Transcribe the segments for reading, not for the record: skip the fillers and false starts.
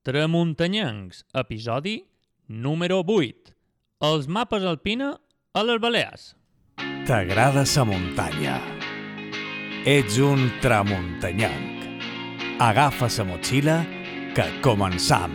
Tramuntanyencs, episodi número 8. Els mapes alpina a les Balears. T'agrada sa muntanya. Ets un tramuntanyenc. Agafa sa motxilla que començam.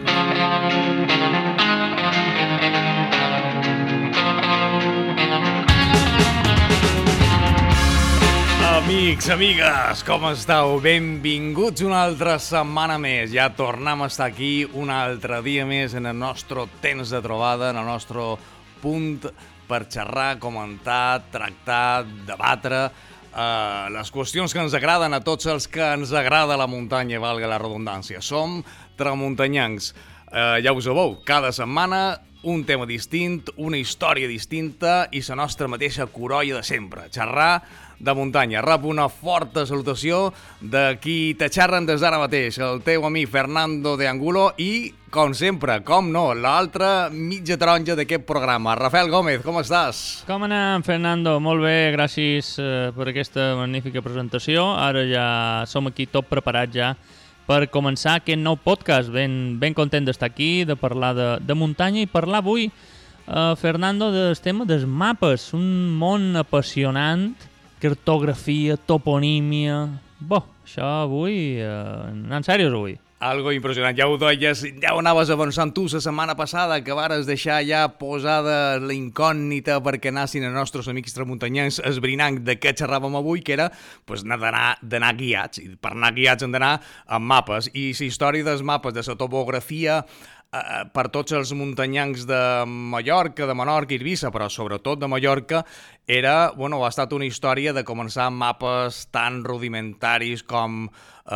Amics, amigues, com esteu? Benvinguts una altra setmana més. Ja tornem a estar aquí un altre dia més en el nostre temps de trobada, en el nostre punt per xerrar, comentar, tractar, debatre les qüestions que ens agraden a tots els que ens agrada la muntanya, valga la redundància. Som tramuntanyencs. Ja ho sabeu, cada setmana un tema distint, una història distinta i la nostra mateixa corolla de sempre, xerrar de muntanya. Rep una forta salutació de qui te xerren des d'ara mateix, el teu amic Fernando de Angulo i, com sempre, com no, l'altra mitja taronja d'aquest programa, Rafael Gómez, com estàs? Com anem, Fernando? Molt bé, gràcies per aquesta magnífica presentació. Ara ja som aquí tot preparats ja per començar aquest nou podcast. Ben content d'estar aquí, de parlar de muntanya i parlar avui, Fernando, del tema dels mapes, un món apassionant, cartografia, toponímia... això avui, anant serios avui. Algo impressionant, ja ho deies, ja ho anaves avançant tu la setmana passada, que vares deixar ja posada la incògnita perquè anassin els nostres amics tramuntanyencs esbrinant de què xerràvem avui, que era d'anar guiats, i per anar guiats hem d'anar amb mapes, i la història dels mapes, de la topografia, per tots els muntanyencs de Mallorca, de Menorca i Eivissa, però sobretot de Mallorca, ha estat una història de començar amb mapes tan rudimentaris com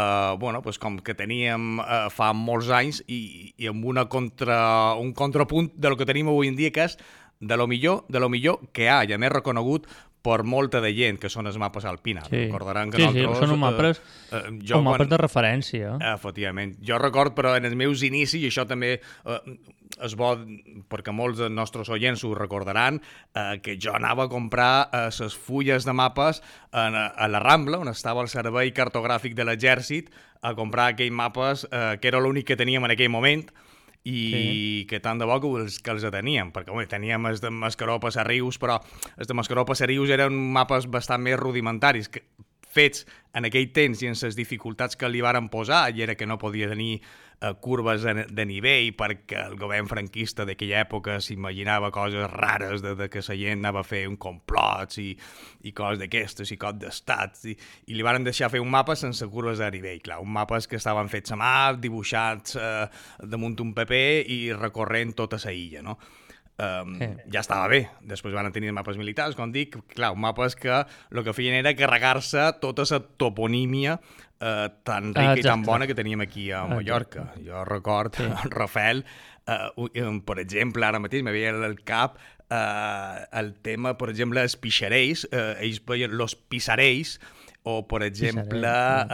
que teníem fa molts anys i amb un contrapunt de lo que tenim avui en dia, que és de lo millor que hi ha, i a més reconegut per molta de gent, que són els mapes alpina. Sí, recordaran que són mapes, mapes de referència. Efectivament. Jo record, però en els meus inicis, i això també és bo, perquè molts dels nostres oients ho recordaran, que jo anava a comprar les fulles de mapes a la Rambla, on estava el servei cartogràfic de l'exèrcit, a comprar aquells mapes, que era l'únic que teníem en aquell moment, i que tant de bo que els teníem, perquè teníem els de Mascaró a Passarrius, però els de Mascaró a Passarrius eren mapes bastant més rudimentaris, fets en aquell temps i en les dificultats que li varen posar, i era que no podia tenir curves de nivell, perquè el govern franquista d'aquella època s'imaginava coses rares de que la gent anava a fer un complots i coses d'aquestes, i cop d'estats, i li varen deixar fer un mapa sense curves de nivell, clar, un mapes que estaven fets a mà, dibuixats damunt un paper i recorrent tota la illa, no? Ja estava bé. Després van tenir mapes militars, com dic, clar, mapes que el que feien era carregar-se tota la toponímia tan rica i tan bona que teníem aquí a Mallorca. Jo record, Rafael, per exemple, ara mateix me veia al cap el tema, per exemple, els pixarells, ells veien los pisarells, o, per exemple,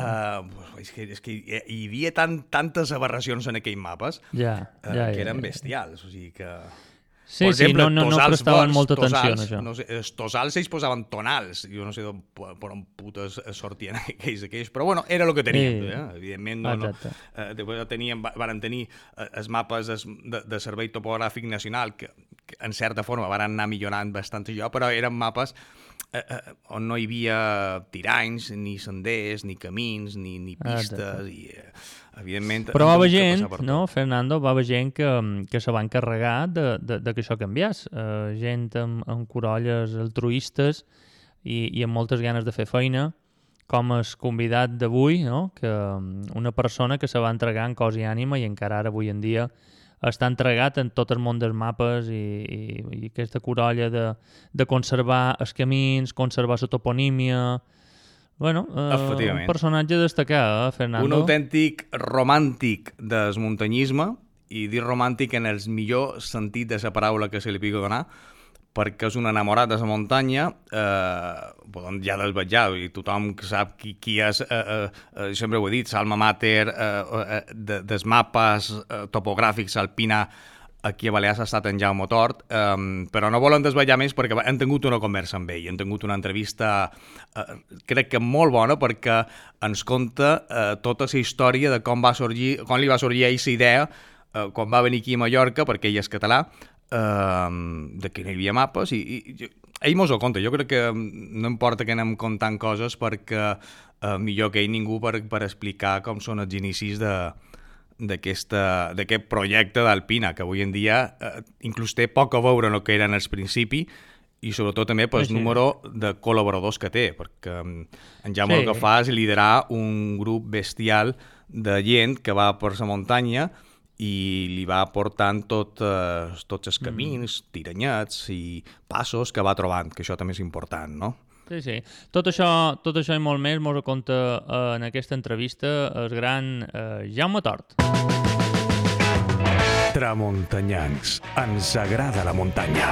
és que hi havia tantes aberracions en aquells mapes que eren bestials, o sigui que... Sí, exemple, no prestaven molta atenció en això. No sé, els tosals ells posaven tonals, jo no sé per on putes sortien aquells, però bueno, era el que teníem, evidentment. Després van tenir els mapes de Servei Topogràfic Nacional, que en certa forma van anar millorant bastant allò, però eren mapes on no hi havia tiranys, ni senders, ni camins, ni pistes, i evidentment... Però va haver gent, no, Fernando, va haver gent que se va encarregar de que això canviés. Gent amb corolles altruistes i amb moltes ganes de fer feina, com el convidat d'avui, no? Que una persona que se va entregar en cos i ànima i encara ara avui en dia està entregat en tot el món dels mapes i aquesta corolla de conservar els camins, conservar la toponímia... un personatge destacat, Fernando. Un autèntic romàntic del muntanyisme, i dir romàntic en el millor sentit de la paraula que se li pugui donar, perquè és un enamorat de la muntanya, ja desvetjat, i tothom sap qui és, sempre ho he dit, l'alma mater dels mapes topogràfics alpina aquí a Balears ha estat en Jaume Tort, però no volem desvetllar més perquè hem tingut una conversa amb ell, hem tingut una entrevista crec que molt bona perquè ens conta tota la història de com li va sorgir a ell la idea quan va venir aquí a Mallorca, perquè ell és català, de que no hi havia mapes i ell mos ho conta. Jo crec que no importa que anem contant coses perquè millor que ell ningú per explicar com són els inicis d'aquest projecte d'Alpina, que avui en dia inclús té poc a veure amb el que era en el principi i sobretot també pel número de col·laboradors que té, perquè en Jaume el que fa és liderar un grup bestial de gent que va per la muntanya i li va portant tots els camins, tiranyets i passos que va trobant, que això també és important, no? Sí. Tot això i molt més mos ho conta en aquesta entrevista el gran Jaume Tort. Tramuntanyans, ens agrada la muntanya.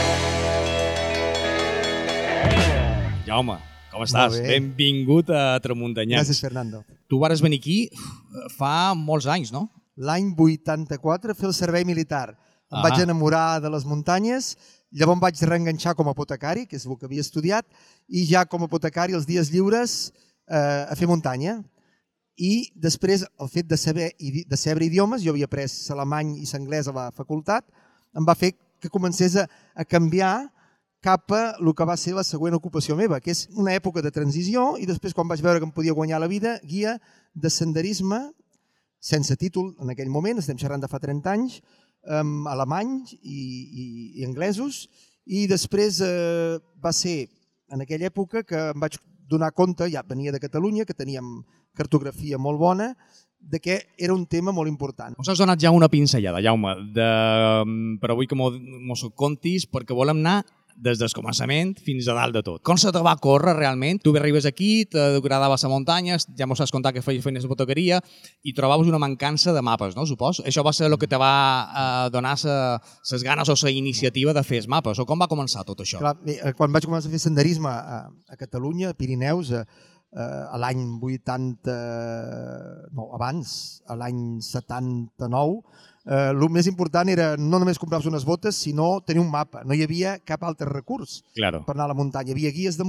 Jaume, com estàs? Benvingut a Tramuntanyans. Gràcies, Fernando. Tu vares venir aquí fa molts anys, no? L'any 84 fer el servei militar. Em vaig enamorar de les muntanyes, llavors em vaig reenganxar com a apotecari, que és el que havia estudiat, i ja com a apotecari els dies lliures a fer muntanya. I després el fet de saber idiomes, jo havia après l'alemany i l'anglès a la facultat, em va fer que comencés a canviar cap a el que va ser la següent ocupació meva, que és una època de transició, i després quan vaig veure que em podia guanyar la vida, guia de senderisme sense títol en aquell moment, estem xerrant de fa 30 anys, alemanys i anglesos, i després va ser en aquella època que em vaig donar compte, ja venia de Catalunya, que teníem cartografia molt bona, de que era un tema molt important. Us has donat ja una pinzellada, Jaume, però vull que mos ho contis perquè volem anar des del començament fins a dalt de tot. Com se te va córrer realment? Tu arribes aquí, t'agradava la muntanya, ja mos has contat que feies feines de fotoqueria i trobaves una mancança de mapes, no? Supos? Això va ser el que te va donar les ganes o la iniciativa de fer els mapes, o com va començar tot això? Clar, quan vaig començar a fer senderisme a Catalunya, a Pirineus, a l'any 80... no, abans, a l'any 79, el més important era no només comprar-se unes botes, sinó tenir un mapa. No hi havia cap altre recurs per anar a la muntanya. Hi havia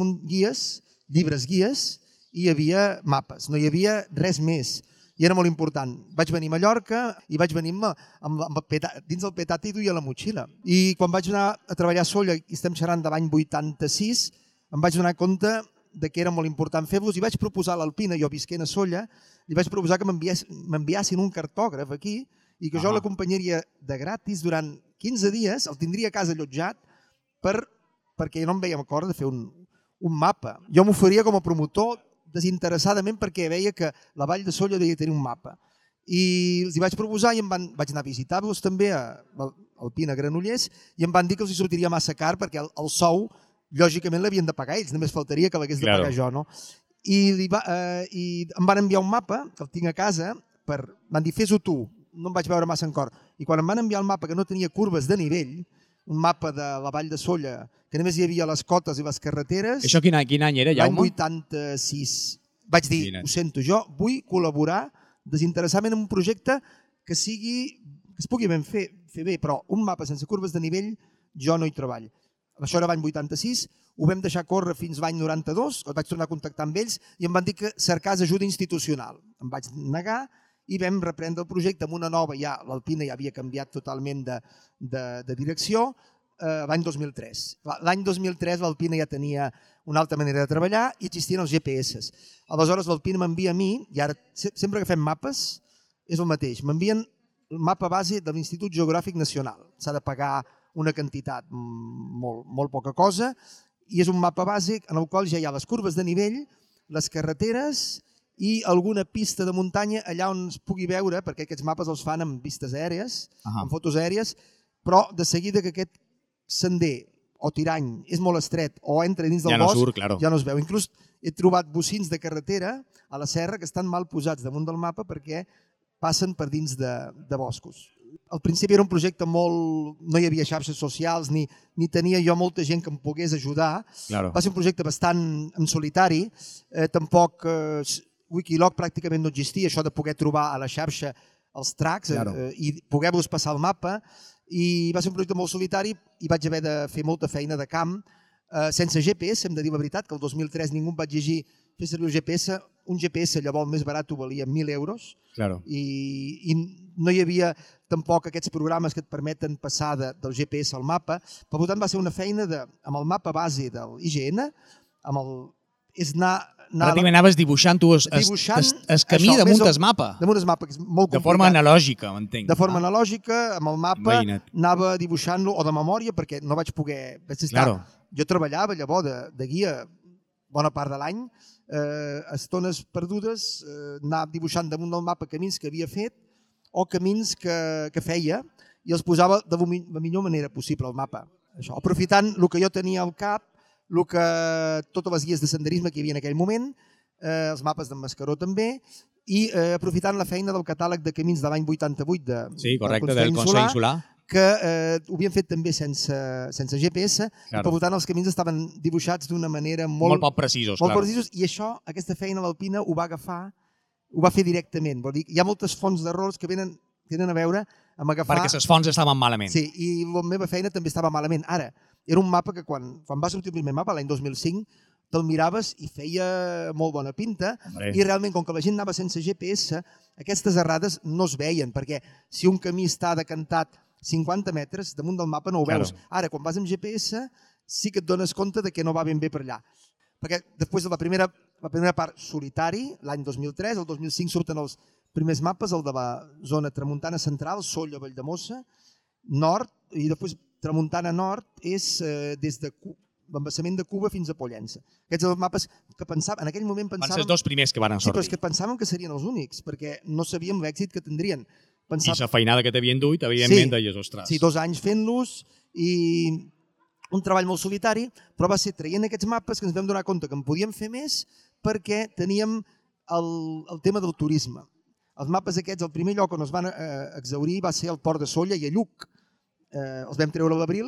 llibres guies, i hi havia mapes. No hi havia res més. I era molt important. Vaig venir a Mallorca i vaig venir dins del petat i duia la motxilla. I quan vaig anar a treballar a Sóller, i estem xerrant de l'any 86, em vaig donar compte de que era molt important fer-los i vaig proposar a l'Alpina, jo visquent a Sóller, li vaig proposar que m'enviassin un cartògraf aquí i que jo l'acompanyaria de gratis durant 15 dies, el tindria a casa allotjat perquè no em veia acord de fer un mapa. Jo m'oferia com a promotor desinteressadament perquè veia que la Vall de Sóller devia tenir un mapa. I els hi vaig proposar i vaig anar a visitar-los també a Alpina, Granollers, i em van dir que els hi sortiria massa car perquè el sou, lògicament, l'havien de pagar ells, només faltaria que l'hagués de pagar jo, no? I em van enviar un mapa, que el tinc a casa, van dir, fes-ho tu, no em vaig veure massa en cor. I quan em van enviar el mapa que no tenia curves de nivell, un mapa de la Vall de Sóller, que només hi havia les cotes i les carreteres... Això quin any era, Jaume? L'any 86. Vaig dir, ho sento, jo vull col·laborar desinteressadament en un projecte que es pugui ben fer bé, però un mapa sense curves de nivell jo no hi treballo. Això era l'any 86, ho vam deixar córrer fins l'any 92, vaig tornar a contactar amb ells i em van dir que cercés ajuda institucional. Em vaig negar i vam reprendre el projecte amb una nova, ja l'Alpina ja havia canviat totalment de direcció, l'any 2003. L'any 2003 l'Alpina ja tenia una altra manera de treballar i existien els GPS. Aleshores l'Alpina m'envia a mi, i ara sempre que fem mapes és el mateix, m'envien el mapa base de l'Institut Geogràfic Nacional. S'ha de pagar una quantitat molt poca cosa i és un mapa bàsic en el qual ja hi ha les curves de nivell, les carreteres i alguna pista de muntanya allà on es pugui veure, perquè aquests mapes els fan amb vistes aèries, amb fotos aèries, però de seguida que aquest sender o tirany és molt estret o entra dins del bosc, ja no es veu. Inclús he trobat bocins de carretera a la serra que estan mal posats damunt del mapa perquè passen per dins de boscos. Al principi era un projecte molt... no hi havia xarxes socials ni tenia jo molta gent que em pogués ajudar. Va ser un projecte bastant en solitari. Tampoc Wikiloc pràcticament no existia, això de poder trobar a la xarxa els tracks i poder-los passar el mapa. i va ser un projecte molt solitari i vaig haver de fer molta feina de camp sense GPS, hem de dir la veritat, que el 2003 ningú em va exigir fer servir el GPS. Un GPS llavors més barat valia 1.000 euros i no hi havia tampoc aquests programes que et permeten passar del GPS al mapa. Per tant, va ser una feina amb el mapa base de l'IGN, pràcticament anaves dibuixant tu el camí damunt el mapa. Damunt el mapa, que és molt complicat. De forma analògica, m'entenc. De forma analògica, amb el mapa, anava dibuixant-lo, o de memòria, perquè no vaig poder... Jo treballava llavors de guia bona part de l'any, estones perdudes, anava dibuixant damunt del mapa camins que havia fet o camins que feia i els posava de la millor manera possible al mapa. Aprofitant el que jo tenia al cap, totes les guies de senderisme que hi havia en aquell moment, els mapes d'en Mascaró també, i aprofitant la feina del catàleg de camins de l'any 88 del Consell Insular, que ho havien fet també sense GPS, i per tant els camins estaven dibuixats d'una manera molt poc precisos. I això, aquesta feina l'Alpina ho va agafar, ho va fer directament. Vol dir, hi ha moltes fonts d'errors que tenen a veure amb agafar... Perquè les fonts estaven malament. Sí, i la meva feina també estava malament. Ara, era un mapa que quan va sortir el primer mapa, l'any 2005, te'l miraves i feia molt bona pinta, i realment, com que la gent anava sense GPS, aquestes errades no es veien, perquè si un camí està decantat 50 metres damunt del mapa no ho veus. Ara, quan vas amb GPS, sí que et dones compte que no va ben bé per allà. Perquè després de la primera part solitari, l'any 2003, el 2005 surten els primers mapes, el de la zona tramuntana central, Sóller, Valldemossa, nord, i després tramuntana nord és des de l'embassament de Cuba fins a Pollença. Aquests són els mapes que pensàvem, en aquell moment pensàvem... Van ser els dos primers que van sortir. Sí, però és que pensàvem que serien els únics, perquè no sabíem l'èxit que tindrien. I la feinada que t'havien duit, evidentment, deies, ostres. Sí, 2 anys fent-los i un treball molt solitari, però va ser traient aquests mapes que ens vam donar compte que en podíem fer més perquè teníem el tema del turisme. Els mapes aquests, el primer lloc on es van exhaurir va ser al Port de Sóller i a Lluc. Els vam treure a l'abril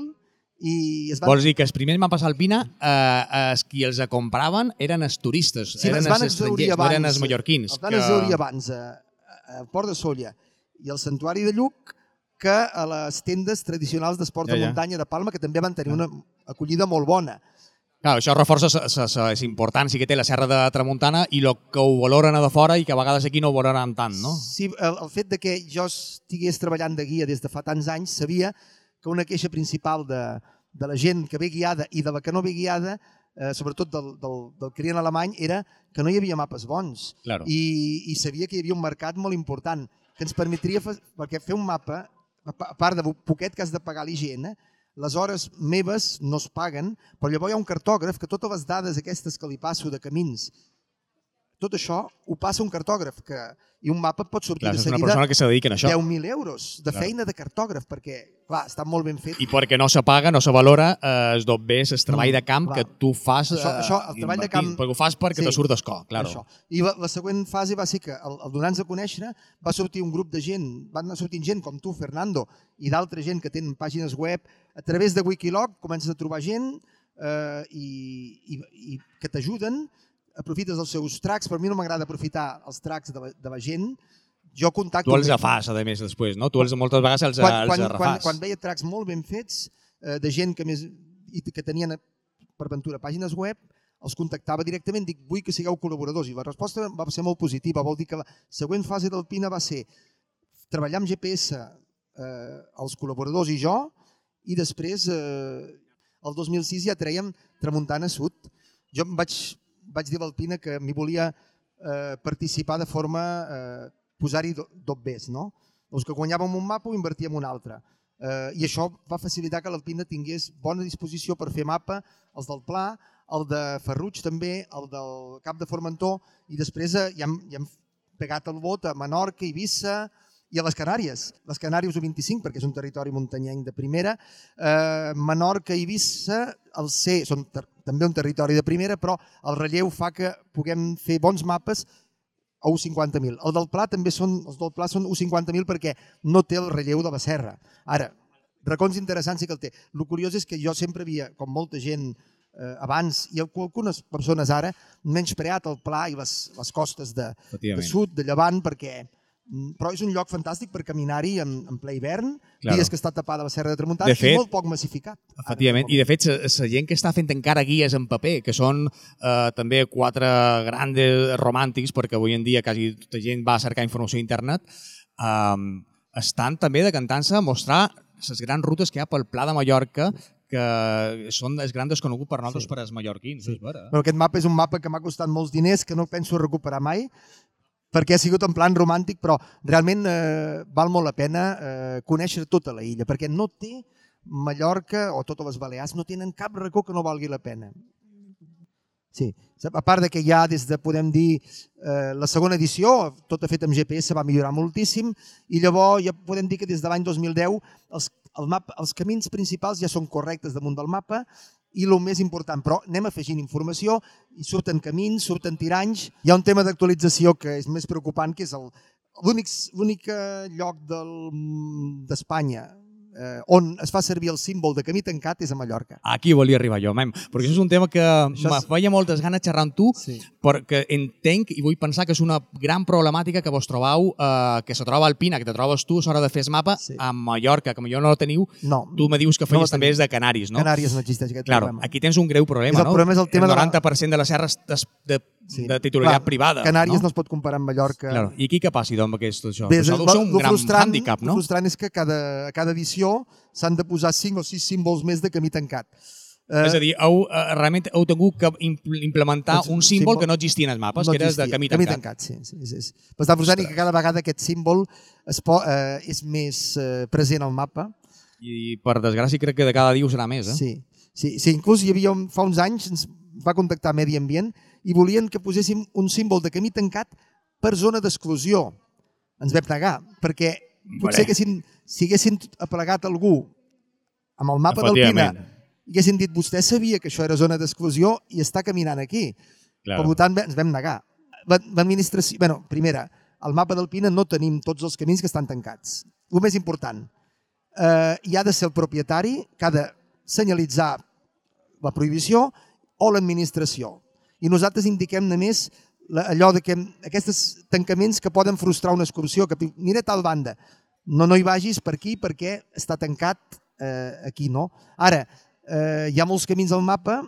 i es van... Vols dir que els primers mapes Alpina, qui els compraven eren els turistes, eren els estrangers, no eren els mallorquins. Els van exhaurir abans al Port de Sóller i al Santuari de Lluc que a les tendes tradicionals d'esports de muntanya de Palma, que també van tenir una acollida molt bona. Clar, això reforça la importància que té la Serra de Tramuntana i el que ho valoren a de fora i que a vegades aquí no ho valoren tant, no? Sí, el fet que jo estigués treballant de guia des de fa tants anys, sabia que una queixa principal de la gent que ve guiada i de la que no ve guiada, sobretot del client alemany, era que no hi havia mapes bons. I sabia que hi havia un mercat molt important que ens permetria, perquè fer un mapa, a part de poquet que has de pagar l'IGN, les hores meves no es paguen, però llavors hi ha un cartògraf que totes les dades aquestes que li passo de camins, tot això ho passa un cartògraf i un mapa pot sortir de seguida 10.000 euros de feina de cartògraf, perquè clar, està molt ben fet. I perquè no se paga, no se valora es dot bé el treball de camp que tu fas. Això, el treball de camp... Perquè ho fas perquè te surt d'escó, claro. I la següent fase va ser que al donar-nos a conèixer va sortir un grup de gent, van anar sortint gent com tu, Fernando, i d'altra gent que tenen pàgines web. A través de Wikiloc comences a trobar gent i que t'ajuden, aprofites els seus tracks. Per mi no m'agrada aprofitar els tracks de la gent. Jo contacto... Tu els fas, a més, després, no? Tu moltes vegades els refàs. Quan veia tracks molt ben fets, de gent que tenien per ventura pàgines web, els contactava directament, dic, vull que sigueu col·laboradors. I la resposta va ser molt positiva. Vol dir que la següent fase d'Alpina va ser treballar amb GPS els col·laboradors i jo, i després, el 2006, ja trèiem Tramuntana Sud. Jo vaig dir a l'Alpina que m'hi volia participar de forma posar-hi dobbers, no? Els que guanyàvem un mapa ho invertíem en un altre. I això va facilitar que l'Alpina tingués bona disposició per fer mapa, els del Pla, el de Ferruig també, el del Cap de Formentor, i després ja hem pegat el vot a Menorca, Eivissa i a les Canàries. Les Canàries ho 25 perquè és un territori muntanyenc de primera. Menorca i Eivissa, el C, són també un territori de primera, però el relleu fa que puguem fer bons mapes a 50.000. El del Pla també els del Pla són 50.000 perquè no té el relleu de la serra. Ara, racons interessants sí que el té. El curiós és que jo sempre havia, com molta gent abans, i algunes persones ara, menyspreat el Pla i les costes de sud, de llevant, perquè Però és un lloc fantàstic per caminar-hi en ple hivern, Claro. dies que està tapada la Serra de Tramuntana, De fet, i molt poc massificat. Efectivament, i de fet la gent que està fent encara guies en paper, que són també 4 grans romàntics, perquè avui en dia quasi tota gent va a cercar informació a internet, estan també decantant-se a mostrar les grans rutes que hi ha pel Pla de Mallorca, que són els grans desconeguts per nosaltres, per als mallorquins. És vera. Però aquest mapa és un mapa que m'ha costat molts diners, que no penso recuperar mai, perquè ha sigut en plan romàntic, però realment val molt la pena conèixer tota la illa, perquè no té Mallorca o totes les Balears, no tenen cap racó que no valgui la pena. Sí, a part de que ja des de, podem dir, la segona edició, tot fet amb GPS, va millorar moltíssim, i llavors ja podem dir que des de l'any 2010 els camins principals ja són correctes damunt del mapa, i el més important, però anem afegint informació i surten camins, surten tiranys. Hi ha un tema d'actualització que és més preocupant, que és l'únic lloc d'Espanya on es fa servir el símbol de camí tancat és a Mallorca. Aquí volia arribar jo, perquè això és un tema que me feia moltes ganes xerrar amb tu, perquè entenc i vull pensar que és una gran problemàtica que vos trobau, que se troba al Pina, que te trobes tu a l'hora de fer el mapa, a Mallorca, que millor no el teniu, tu me dius que feies també és de Canaris, no? Canàries no existeix aquest problema. Aquí tens un greu problema, no? El 90% de les serres de titularitat privada. Canàries no es pot comparar amb Mallorca. I aquí què passi amb aquest això? Això deu ser un gran hàndicap, no? El frustrant és que a cada edició s'han de posar 5 o 6 símbols més de camí tancat. És a dir, realment heu tingut que implementar un símbol que no existia en els mapes, que era de camí tancat. Camí tancat, sí. Però està frustrant que cada vegada aquest símbol és més present al mapa. I per desgràcia crec que de cada dia ho serà més, eh? Sí, inclús hi havia, fa uns anys, ens va contactar Medi Ambient i volien que poséssim un símbol de camí tancat per zona d'exclusió. Ens vam negar, perquè potser si haguessin aplegat algú amb el mapa del Pina i haguessin dit vostè sabia que això era zona d'exclusió i està caminant aquí. Per tant, ens vam negar. L'administració, primera, al mapa del Pina no tenim tots els camins que estan tancats. El més important, hi ha de ser el propietari que ha de senyalitzar la prohibició o l'administració. I nosaltres indiquem només allò que aquests tancaments que poden frustrar una excursió, que mira tal banda, no hi vagis per aquí perquè està tancat aquí, no? Ara, hi ha molts camins al mapa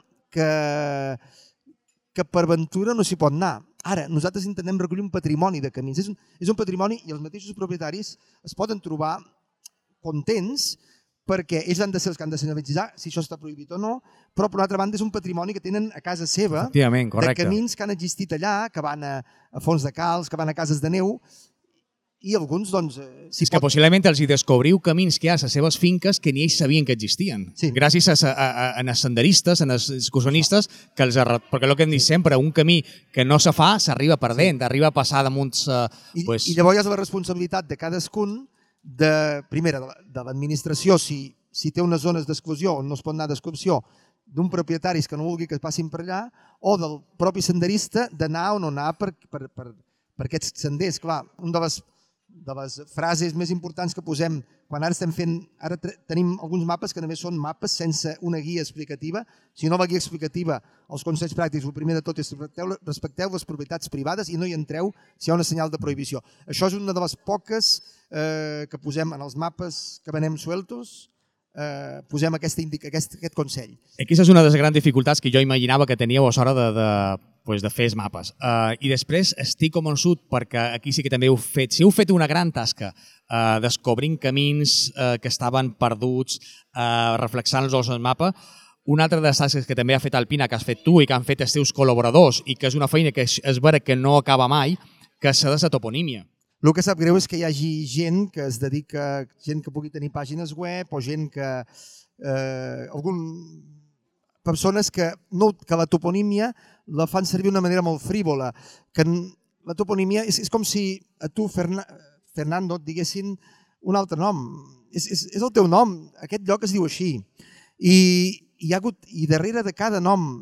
que per aventura no s'hi pot anar. Ara, nosaltres intentem recollir un patrimoni de camins. És un patrimoni i els mateixos propietaris es poden trobar contents perquè ells han de ser els que han de senyalitzar si això està prohibit o no, però per una altra banda és un patrimoni que tenen a casa seva de camins que han existit allà, que van a fons de calç, que van a cases de neu, i alguns, doncs... És que possiblement els hi descobriu camins que hi ha a les seves finques que ni ells sabien que existien. Gràcies a senderistes, a excursionistes, perquè el que hem dit sempre, un camí que no se fa, s'arriba perdent, arriba a passar damunt... I llavors és la responsabilitat de cadascun, primera, de l'administració, si té unes zones d'exclusió on no es pot anar d'excursió, d'un propietari que no vulgui que es passin per allà, o del propi senderista d'anar o no anar per aquests senders. Clar, una de les frases més importants que posem quan ara estem fent, ara tenim alguns mapes que només són mapes sense una guia explicativa. Si no la guia explicativa, els consells pràctics, el primer de tot és respecteu les propietats privades i no hi entreu si hi ha una senyal de prohibició. Això és una de les poques que posem en els mapes que venem sueltos, posem aquest consell. Aquesta és una de les grans dificultats que jo imaginava que teníeu a l'hora de fer els mapes. I després estic convençut, perquè aquí sí que també heu fet, si heu fet una gran tasca descobrint camins que estaven perduts, reflexant-los al mapa, una altra de les tasques que també ha fet Alpina, que has fet tu i que han fet els teus col·laboradors i que és una feina que és vera que no acaba mai, que és la toponímia. El que sap greu és que hi hagi gent que es dedica, gent que pugui tenir pàgines web o gent que... persones que la toponímia la fan servir d'una manera molt frívola. Que la toponímia és com si a tu, Fernando, et diguessin un altre nom. És el teu nom, aquest lloc es diu així. I darrere de cada nom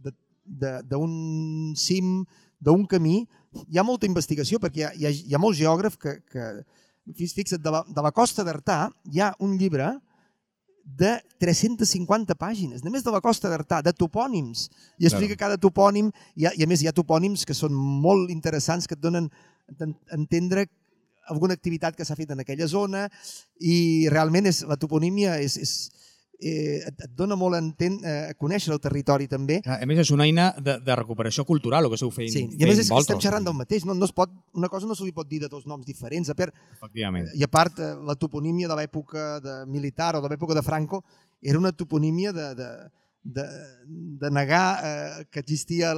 d'un cim, d'un camí, hi ha molta investigació, perquè hi ha molts geògrafs que fixa't, de la Costa d'Artà hi ha un llibre de 350 pàgines, només de la Costa d'Artà, de topònims, i explica cada topònim, i a més hi ha topònims que són molt interessants, que et donen a entendre alguna activitat que s'ha fet en aquella zona i realment la toponímia et dona molt a conèixer el territori també. A més, és una eina de recuperació cultural, el que esteu fent. Sí, i a més estem xerrant del mateix. Una cosa no se li pot dir de dos noms diferents. Efectivament. I a part, la toponímia de l'època militar o de l'època de Franco era una toponímia de negar que existia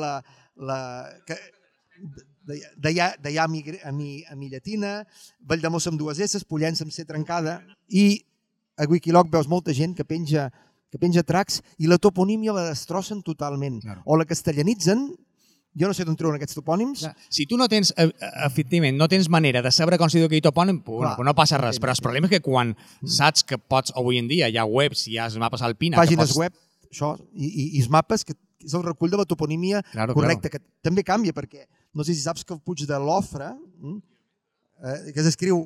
d'allà a mi llatina, Valldemossa amb dues S, Pollença amb C trencada, i a Wikiloc veus molta gent que penja tracks i la toponímia la destrossen totalment. Claro. O la castellanitzen, jo no sé d'on treuen aquests topònims. Si tu no tens, efectivament, no tens manera de saber com s'hi diu aquell topònim, no passa res. Però el problema és que quan saps que pots, avui en dia, hi ha webs, hi ha mapes alpines... Pàgines web, això, i els mapes, que és el recull de la toponímia correcta, que també canvia, perquè no sé si saps que el Puig de l'Ofre, que s'escriu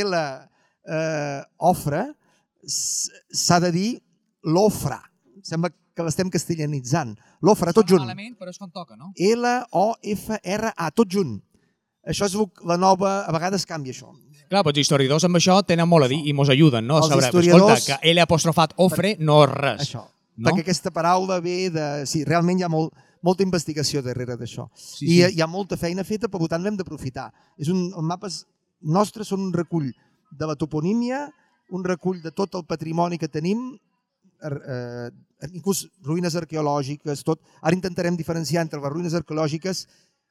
L-Ofre, s'ha de dir l'Ofra. Sembla que l'estem castellanitzant. L'Ofra, tot junt. Malament, però és com toca, no? L-O-F-R-A, tot junt. Això és la nova... A vegades canvia això. Clar, doncs historiadors amb això tenen molt a dir i mos ajuden, no? Els historiadors... Escolta, que L' ofre no és res. Això. Perquè aquesta paraula ve de... Sí, realment hi ha molta investigació darrere d'això. I hi ha molta feina feta, per tant l'hem d'aprofitar. Els mapes nostres són un recull de la toponímia, un recull de tot el patrimoni que tenim, inclús ruïnes arqueològiques, tot. Ara intentarem diferenciar entre les ruïnes arqueològiques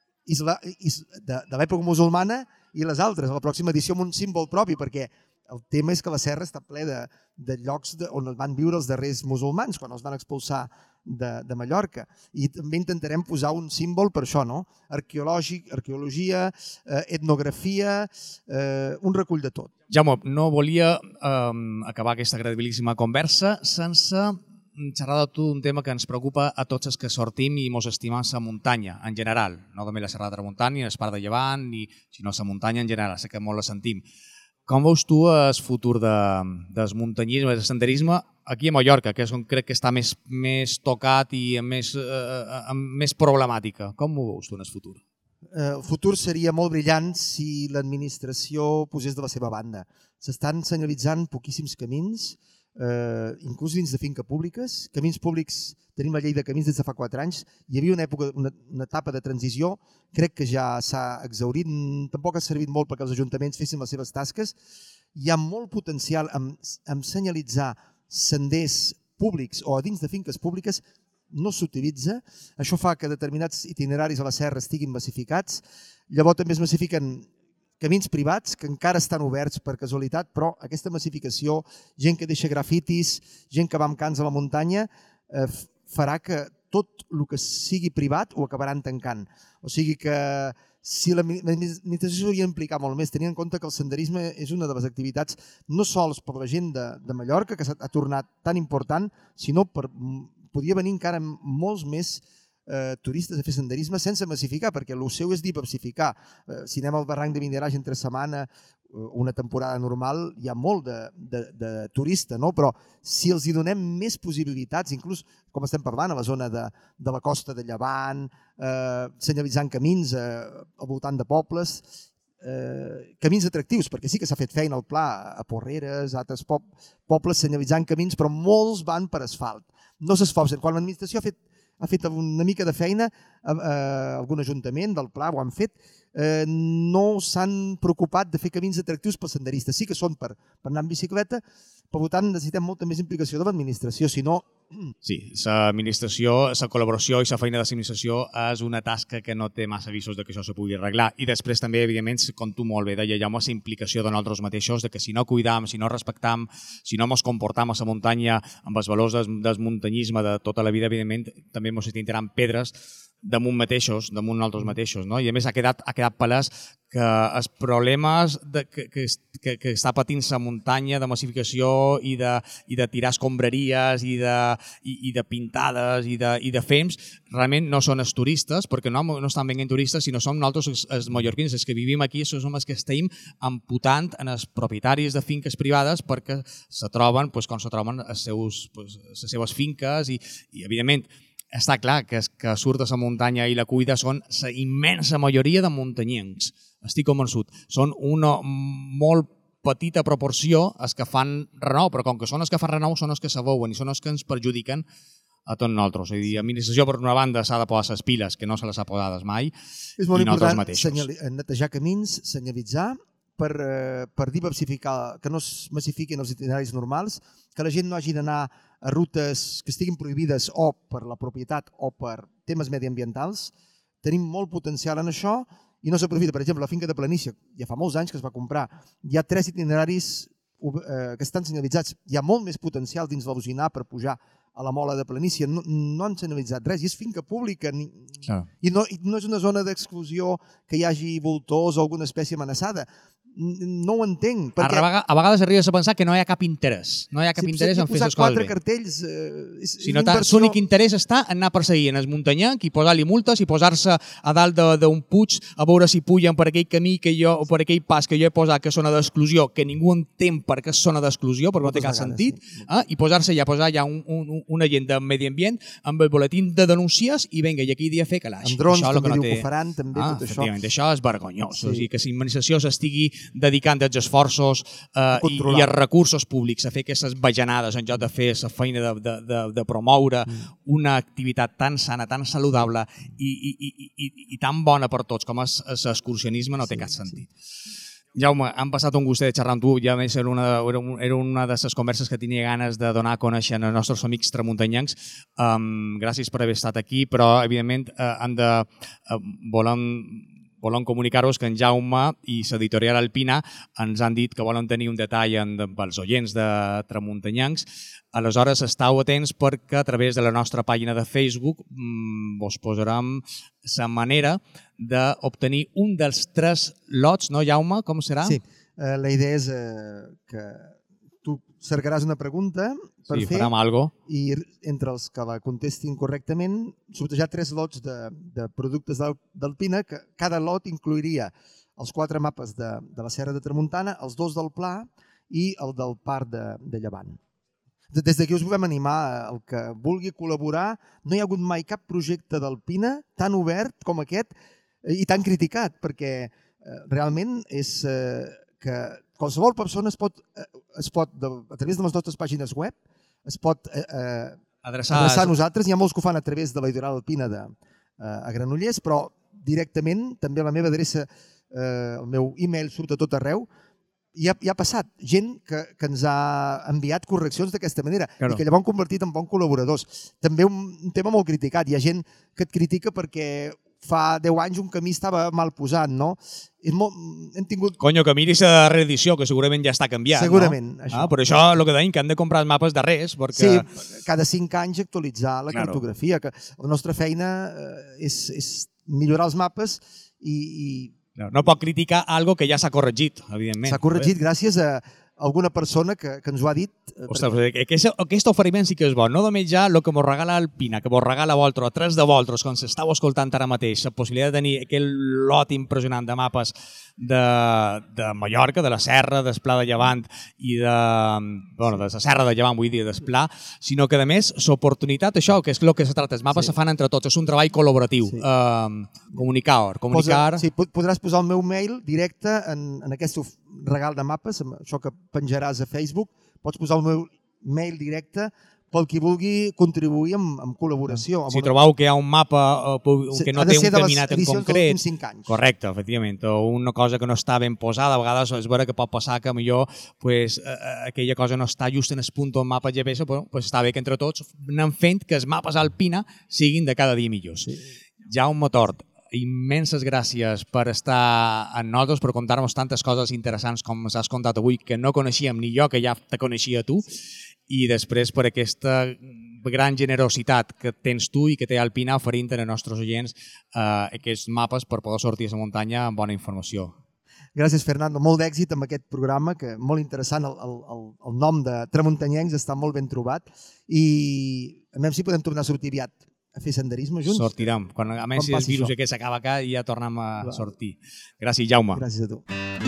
de l'època musulmana i les altres, a la pròxima edició amb un símbol propi, perquè el tema és que la serra està ple de llocs on van viure els darrers musulmans, quan els van expulsar de Mallorca. I també intentarem posar un símbol per això, no? Arqueologia, etnografia, un recull de tot. Jaume, no volia acabar aquesta agradabilíssima conversa sense xerrar de tu un tema que ens preocupa a tots els que sortim i mos estimem la muntanya, en general. No només la Serra de Tramuntana, ni l'Espart de Llevant, sinó la muntanya en general. Sé que molt la sentim. Com veus tu el futur del muntanyisme, del senderisme aquí a Mallorca, que és on crec que està més tocat i amb més problemàtica? Com ho veus tu en el futur? El futur seria molt brillant si l'administració posés de la seva banda. S'estan senyalitzant poquíssims camins, inclús dins de finca públiques. Camins públics, tenim la llei de camins des de fa 4 anys. Hi havia una etapa de transició, crec que ja s'ha exhaurit, tampoc ha servit molt perquè els ajuntaments fessin les seves tasques. Hi ha molt potencial en senyalitzar senders públics o a dins de finques públiques, no s'utilitza. Això fa que determinats itineraris a la serra estiguin massificats. Llavors també es massifiquen camins privats que encara estan oberts per casualitat, però aquesta massificació, gent que deixa grafitis, gent que va amb cans a la muntanya, farà que tot el que sigui privat ho acabaran tancant. O sigui que si l'administració s'hauria d'implicar molt més, tenint en compte que el senderisme és una de les activitats no sols per la gent de Mallorca, que s'ha tornat tan important, sinó podria venir encara molts més turistes a fer senderisme sense massificar, perquè el seu és diversificar. Si anem al barranc de Vindaràs entre setmana, una temporada normal, hi ha molt de turista, no? Però si els hi donem més possibilitats, inclús com estem parlant a la zona de la costa de Llevant, senyalitzant camins al voltant de pobles, camins atractius, perquè sí que s'ha fet feina al Pla, a Porreres, a altres pobles senyalitzant camins, però molts van per asfalt. No s'esforcen. Quan l'administració ha fet una mica de feina, algun ajuntament del Pla ho han fet, no s'han preocupat de fer camins atractius pels senderistes. Sí que són per anar en bicicleta, per tant necessitem molta més implicació de l'administració, si no... Sí, l'administració, la col·laboració i la feina de l'administració és una tasca que no té massa visos de que això se pugui arreglar. I després també, evidentment, com tu molt bé deia, hi ha una implicació de nosaltres mateixos, de que si no cuidam, si no respectam, si no ens comportam a la muntanya amb els valors del muntanyisme de tota la vida, evidentment, també ens tindran pedres damunt nosaltres mateixos. No? I a més ha quedat palès que els problemes que està patint la muntanya de massificació i de tirar escombraries i de pintades i de fems realment no són els turistes, perquè no estan venint turistes, sinó som nosaltres els mallorquins, els que vivim aquí, som els que estem amputant en els propietaris de finques privades perquè se troben com se troben les seves finques i evidentment està clar que els que surt de la muntanya i la cuida són la immensa majoria de muntanyencs. estic convençut. Són una molt petita proporció els que fan renou, però com que són els que fan renou són els que s'aveuen i són els que ens perjudiquen a tots nosaltres. És a dir, l'administració, per una banda, s'ha de posar les piles, que no se les ha posades mai, és molt i nosaltres important mateixos. netejar camins, senyalitzar, per diversificar, que no es massifiquin els itineraris normals, que la gent no hagi d'anar a rutes que estiguin prohibides o per la propietat o per temes mediambientals. Tenim molt potencial en això i no s'aprofita. Per exemple, la finca de Planícia, ja fa molts anys que es va comprar, hi ha 3 itineraris que estan senyalitzats. Hi ha molt més potencial dins l'Alzinar per pujar a la Mola de Planícia. No han senyalitzat res i és finca pública. I no és una zona d'exclusió que hi hagi voltors o alguna espècie amenaçada. No ho entenc. A vegades arribes a pensar que no hi ha cap interès. No hi ha cap interès en fer les coses bé. Posar 4 cartells si no, l'únic interès està en anar perseguint el muntanyenc i posar-li multes i posar-se a dalt d'un puig a veure si pugen per aquell camí o per aquell pas que jo he posat que és zona d'exclusió, que ningú entén per què és zona d'exclusió, perquè no té cap sentit, i posar ja un agent de medi ambient amb el boletín de denúncies i vinga, i aquí dia fer calaix. Amb drons també diu que ho faran, també tot això. Efectivament, això és vergonyós. O sigui, que l'administració s'estigui dedicant els esforços i els recursos públics a fer aquestes bajanades en lloc de fer la feina de promoure una activitat tan sana, tan saludable i tan bona per tots com és l'excursionisme no té cap sentit. Jaume, hem passat un gustet de xerrar amb tu, ja més era una de les converses que tenia ganes de donar a conèixer als nostres amics tramuntanyencs. Gràcies per haver estat aquí, però evidentment volem comunicar-vos que en Jaume i l'editorial Alpina ens han dit que volen tenir un detall pels oients de tramuntanyencs. Aleshores, esteu atents perquè a través de la nostra pàgina de Facebook vos posarem la manera d'obtenir un dels 3 lots, no, Jaume? Com serà? Sí, la idea és que tu cercaràs una pregunta per fer i entre els que la contestin correctament sortejar 3 lots de productes d'Alpina, que cada lot incluiria els 4 mapes de la Serra de Tramuntana, els 2 del Pla i el del Parc de Llevant. Des d'aquí us volem animar el que vulgui col·laborar. No hi ha hagut mai cap projecte d'Alpina tan obert com aquest i tan criticat, perquè realment és que qualsevol persona es pot, a través de les nostres pàgines web, es pot adreçar a nosaltres. Hi ha molts que ho fan a través de l'editorial Alpina a Granollers, però directament també la meva adreça, el meu e-mail surt a tot arreu. I ha passat gent que ens ha enviat correccions d'aquesta manera i que llavors han convertit en bons col·laboradors. També un tema molt criticat. Hi ha gent que et critica perquè fa 10 anys un camí estava mal posat, no? Hem tingut... Conyo, que miris la reedició, que segurament ja està canviat, segurament, no? Això. Per això el que deim, que han de comprar els mapes darrers, perquè... Sí, cada 5 anys actualitzar la cartografia. Que la nostra feina és millorar els mapes i... No pot criticar algo que ja s'ha corregit, evidentment. S'ha corregit gràcies a alguna persona que ens ho ha dit. Ostres, aquest oferiment sí que és bo. No només ja el que mos regala Alpina, que mos regala Voltro, a 3 de Voltros, com s'estàu escoltant ara mateix, la possibilitat de tenir aquell lot impressionant de mapes de Mallorca, de la Serra, del Pla de Llevant i de la Serra de Llevant, vull dir, del Pla, sinó que, a més, l'oportunitat, això, que és el que se trata, els mapes se fan entre tots, és un treball col·laboratiu. Comunicar. Sí, podràs posar el meu mail directe en aquest regal de mapes, això que penjaràs a Facebook, pots posar el meu mail directe pel qui vulgui contribuir amb col·laboració. Si trobeu que hi ha un mapa que no té un caminat en concret... Correcte, efectivament. O una cosa que no està ben posada, a vegades és vera que pot passar que millor aquella cosa no està just en el punt on mapa GPS, però està bé que entre tots anem fent que els mapes Alpina siguin de cada dia millors. Jaume Tort, immenses gràcies per estar amb nosaltres, per contar-nos tantes coses interessants com ens has contat avui, que no coneixíem ni jo, que ja te coneixia tu, i després per aquesta gran generositat que tens tu i que té Alpina oferint als nostres oients aquests mapes per poder sortir a la muntanya amb bona informació. Gràcies, Fernando. Molt d'èxit amb aquest programa, que molt interessant. El nom de Tramuntanyencs està molt ben trobat i a veure si podem tornar a sortir aviat a fer senderisme junts. Sortirem. A més, si el virus aquest s'acaba acá, ja tornem a sortir. Gràcies, Jaume. Gràcies a tu.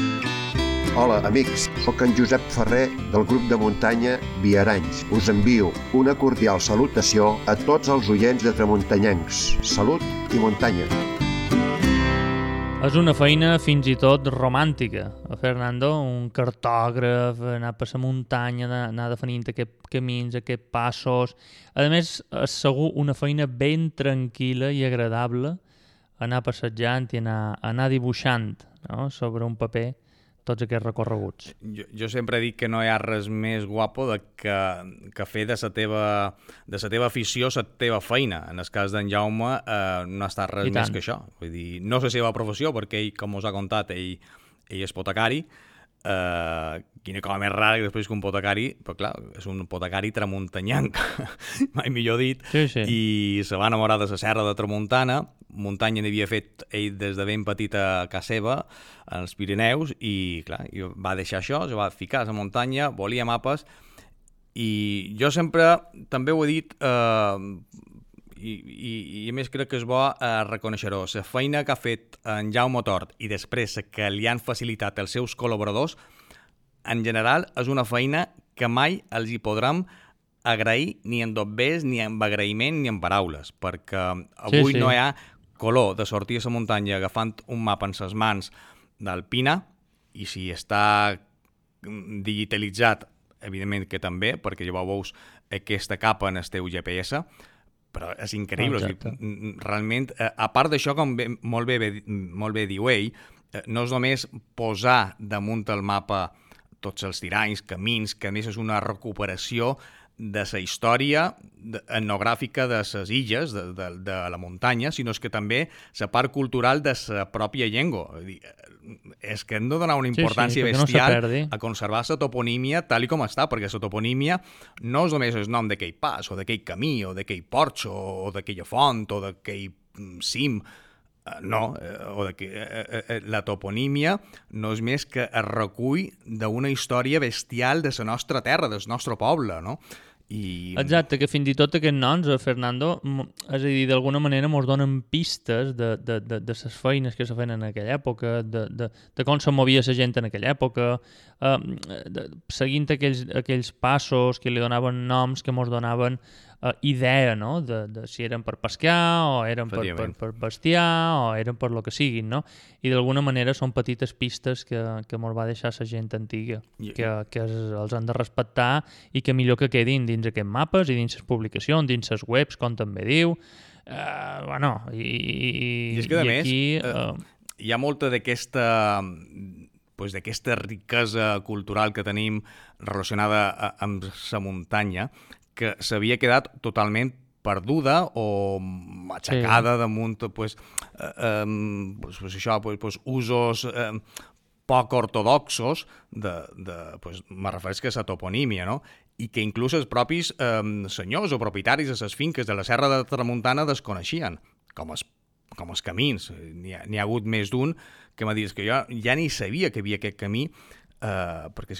Hola, amics. Soc en Josep Ferrer del grup de muntanya Viaranys. Us envio una cordial salutació a tots els oients de Tramuntanyencs. Salut i muntanya. És una feina fins i tot romàntica, Fernando, un cartògraf, anar per la muntanya, anar definint aquests camins, aquests passos. A més, és segur una feina ben tranquil·la i agradable anar passejant i anar dibuixant, no?, sobre un paper tots aquests recorreguts. Jo sempre dic que no hi ha res més guapo que fer de la teva afició la teva feina. En el cas d'en Jaume no ha estat res més que això. Vull dir, no la seva professió, perquè ell, com us ha contat, ell és potecari. Quina cosa més rara que després que un potecari, però clar, és un potecari tramuntanyanc, mai millor dit, sí. I se va enamorar de la serra de Tramuntana. Muntanya n'havia fet ell des de ben petit a casa seva, als Pirineus, i clar, va deixar això, se va ficar a la muntanya, volia mapes, i jo sempre també ho he dit, i a més crec que és bo reconèixer-ho, la feina que ha fet en Jaume Tort i després que li han facilitat els seus col·laboradors, en general és una feina que mai els hi podrem agrair ni en dobbers, ni en agraïment, ni en paraules, perquè avui no hi ha color de sortir a la muntanya agafant un mapa en les mans d'Alpina, i si està digitalitzat, evidentment que també, perquè llavors veus aquesta capa en el teu GPS, però és increïble. O sigui, realment, a part d'això, com molt bé diu ell, no és només posar damunt el mapa tots els tiranys, camins, que a més és una recuperació de la història etnogràfica de les illes, de la muntanya, sinó que també la part cultural de la pròpia llengua. És que hem de donar una importància bestial a conservar la toponímia tal com està, perquè la toponímia no és només el nom d'aquell pas, o d'aquell camí, o d'aquell porxo, o d'aquella font, o d'aquell cim. No, la toponímia no és més que el recull d'una història bestial de la nostra terra, del nostre poble, no? Exacte, que fins i tot aquests noms, Fernando, és a dir, d'alguna manera ens donen pistes de les feines que se feien en aquella època, de com se movia la gent en aquella època, seguint aquells passos que li donaven noms, que ens donaven idea, no?, de si eren per pescar, o eren per bestiar, o eren per lo que siguin, no? I d'alguna manera són petites pistes que ens va deixar la gent antiga, que els han de respectar i que millor que quedin dins aquests mapes i dins les publicacions, dins les webs, com també diu. I és que, a més, hi ha molta d'aquesta riquesa cultural que tenim relacionada amb la muntanya, que s'havia quedat totalment perduda o aixecada damunt usos poc ortodoxos me refereix que a la toponímia, no? I que inclús els propis senyors o propietaris de les finques de la serra de Tramuntana desconeixien, com els camins. N'hi ha hagut més d'un que m'ha dit que jo ja ni sabia que hi havia aquest camí, perquè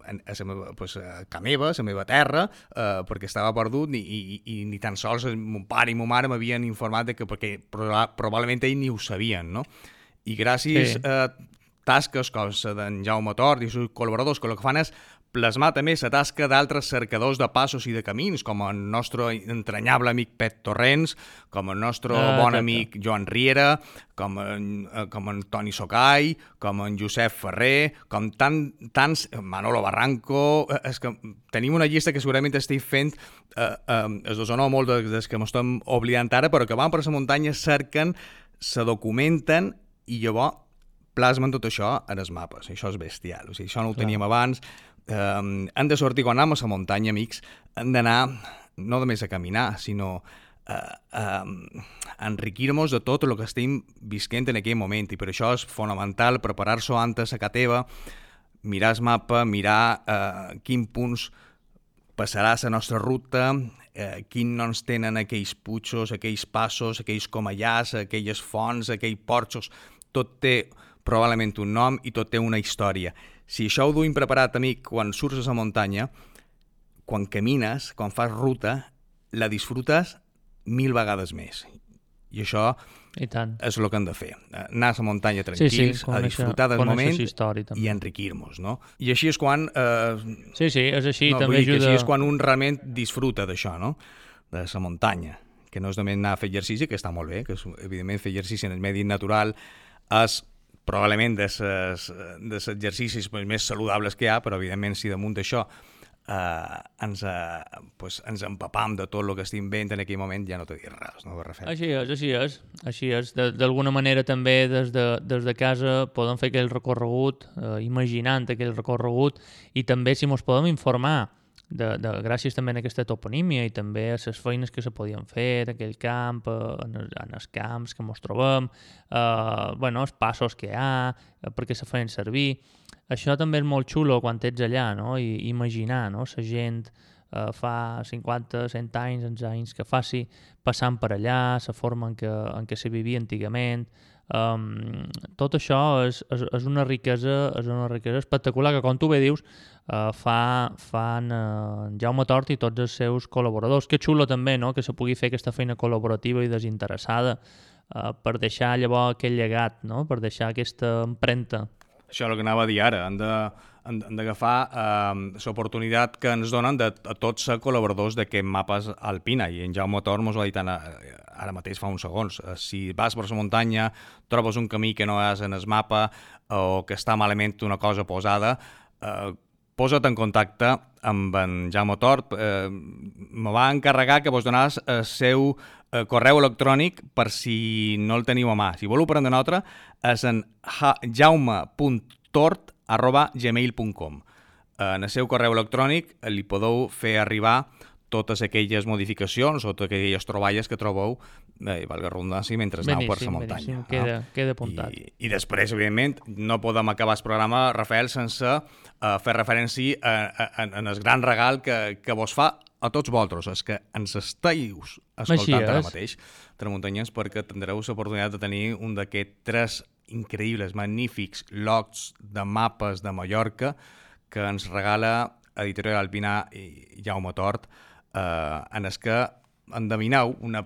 a meva terra, perquè estava perdut i ni tan sols mon pare i ma mare m'havien informat perquè probablement ells ni ho sabien, no? I gràcies a tasques com la d'en Jaume Tort i els seus col·laboradors, que el que fan és plasmar també la tasca d'altres cercadors de passos i de camins, com el nostre entranyable amic Pet Torrents, com el nostre bon amic Joan Riera, com en Toni Socai, com en Josep Ferrer, com tants, Manolo Barranco. És que tenim una llista que segurament estic fent, es dosona molt des que m'estem oblidant ara, però que van per la muntanya, cerquen, se documenten i llavors plasmen tot això en els mapes. Això és bestial. O sigui, això no ho teníem abans. Hem de sortir, quan anem a la muntanya, amics, hem d'anar no només a caminar, sinó a enriquir-nos de tot el que estem visquent en aquell moment, i per això és fonamental preparar-se antes a casa teva, mirar el mapa, mirar quins punts passarà la nostra ruta, quins noms tenen aquells putxos, aquells passos, aquells comallars, aquelles fonts, aquells porxos. Tot té probablement un nom i tot té una història. Si això ho duim preparat, amic, quan surts a la muntanya, quan camines, quan fas ruta, la disfrutes 1000 vegades més. I això és el que hem de fer. Anar a la muntanya tranquils, a disfrutar del moment i enriquir-nos, no? I així és quan... és així, també ajuda... Així és quan un realment disfruta d'això, no? De la muntanya. Que no és només anar a fer exercici, que està molt bé, que és, evidentment, fer exercici en el medi natural és probablement de les exercicis més saludables que hi ha, però evidentment si damunt d'això ens empapam de tot el que estem veient en aquell moment, ja no t'he dit res, no, Rafael? Així és. D'alguna manera també des de casa podem fer aquell recorregut, imaginant aquell recorregut, i també si ens podem informar gràcies també a aquesta toponímia i també a les feines que se podien fer d'aquell camp, en els camps que ens trobem, els passos que hi ha, perquè se feien servir. Això també és molt xulo quan ets allà, no? I imaginar, no? La gent fa 50, 100 anys, els anys que faci, passant per allà, la forma en què se vivia antigament. Tot això és una riquesa espectacular que, com tu bé dius, fan Jaume Tort i tots els seus col·laboradors. Que xulo també, no?, que se pugui fer aquesta feina col·laborativa i desinteressada per deixar llavors aquell llegat, no?, per deixar aquesta empremta. Això és el que anava a dir ara, han d'agafar l'oportunitat que ens donen a tots els col·laboradors d'aquest Mapes Alpina, i en Jaume Tort mos ho ha dit ara mateix fa uns segons. Si vas per la muntanya, trobes un camí que no és en el mapa o que està malament una cosa posada, posa't en contacte amb en Jaume Tort. Me va encarregar que vos donàs el seu correu electrònic per si no el teniu a mà. Si voleu prendre una altra, és en jaume.tort@gmail.com. En el seu correu electrònic li podeu fer arribar totes aquelles modificacions o totes aquelles troballes que trobeu, valga redundància, mentre aneu per la muntanya. Queda apuntat. I després, evidentment, no podem acabar el programa, Rafael, sense fer referència en el gran regal que vos fa a tots vosaltres, els que ens esteu escoltant ara mateix, tramuntanyans, perquè tindreu l'oportunitat de tenir un d'aquests 3 increïbles, magnífics lots de mapes de Mallorca que ens regala Editorial Alpina i Jaume Tort, en els que endevineu una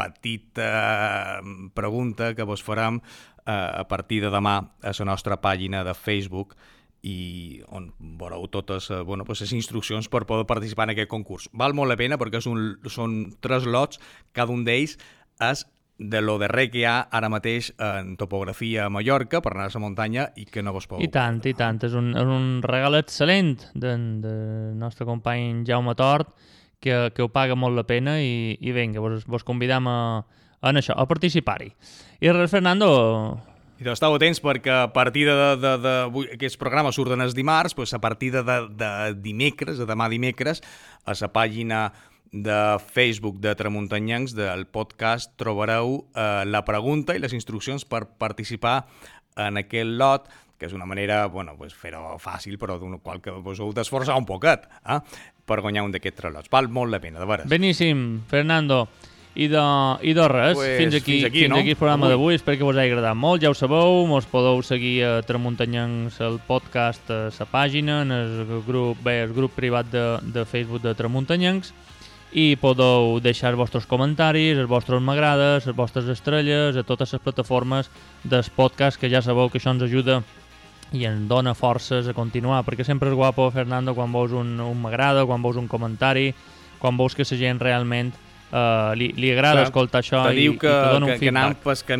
petita pregunta que vos farem a partir de demà a la nostra pàgina de Facebook, i on veureu totes les instruccions per poder participar en aquest concurs. Val molt la pena perquè són 3 lots, cada un d'ells és de lo darrer que hi ha ara mateix en topografia a Mallorca per anar a la muntanya i que no vos podeu... I tant. És un regal excel·lent del nostre company Jaume Tort, que ho paga molt la pena, i vinga, vos convidam a participar-hi. I res, Fernando... I estàu atents perquè a partir d'aquests programes surten els dimarts, a partir de dimecres, de demà dimecres, a la pàgina de Facebook de Tramuntanyencs del podcast trobareu la pregunta i les instruccions per participar en aquest lot, que és una manera, fer-ho fàcil, però d'una qual que vos heu d'esforçar un poquet, per guanyar un d'aquests 3 lots. Val molt la pena, de veres. Beníssim, Fernando. I de res, fins aquí el programa d'avui. Espero que vos hagi agradat molt. Ja ho sabeu, mos podeu seguir a Tramuntanyencs, el podcast, a la pàgina, en el grup privat de Facebook de Tramuntanyencs, i podeu deixar els vostres comentaris, els vostres m'agrades, les vostres estrelles a totes les plataformes del podcast, que ja sabeu que això ens ajuda i ens dona forces a continuar, perquè sempre és guapo, Fernando, quan veus un m'agrada, quan veus un comentari, quan veus que la gent realment li agrada escoltar això i te dona un feedback.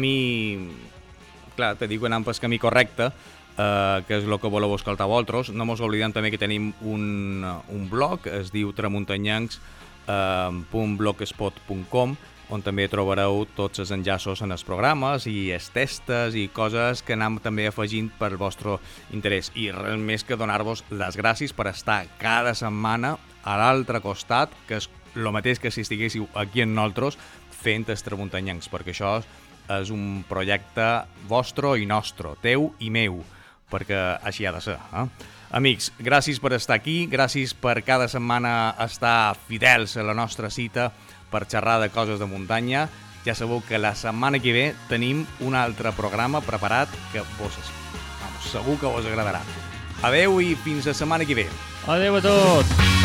Te diu que anem pel camí correcte, que és el que voleu escoltar vosaltres. No mos oblidem també que tenim un blog, es diu tramuntanyencs.blogspot.com, on també trobareu tots els enllaços en els programes i els testes i coses que anem també afegint per vostre interès. I res més que donar-vos les gràcies per estar cada setmana a l'altre costat, que és el mateix que si estiguéssiu aquí en nosaltres fent els Tramuntanyencs, perquè això és un projecte vostre i nostre, teu i meu, perquè així ha de ser. Amics, gràcies per estar aquí, gràcies per cada setmana estar fidels a la nostra cita per xerrar de coses de muntanya. Ja sabeu que la setmana que ve tenim un altre programa preparat que segur que vos agradarà. Adeu i fins la setmana que ve. Adeu a tots!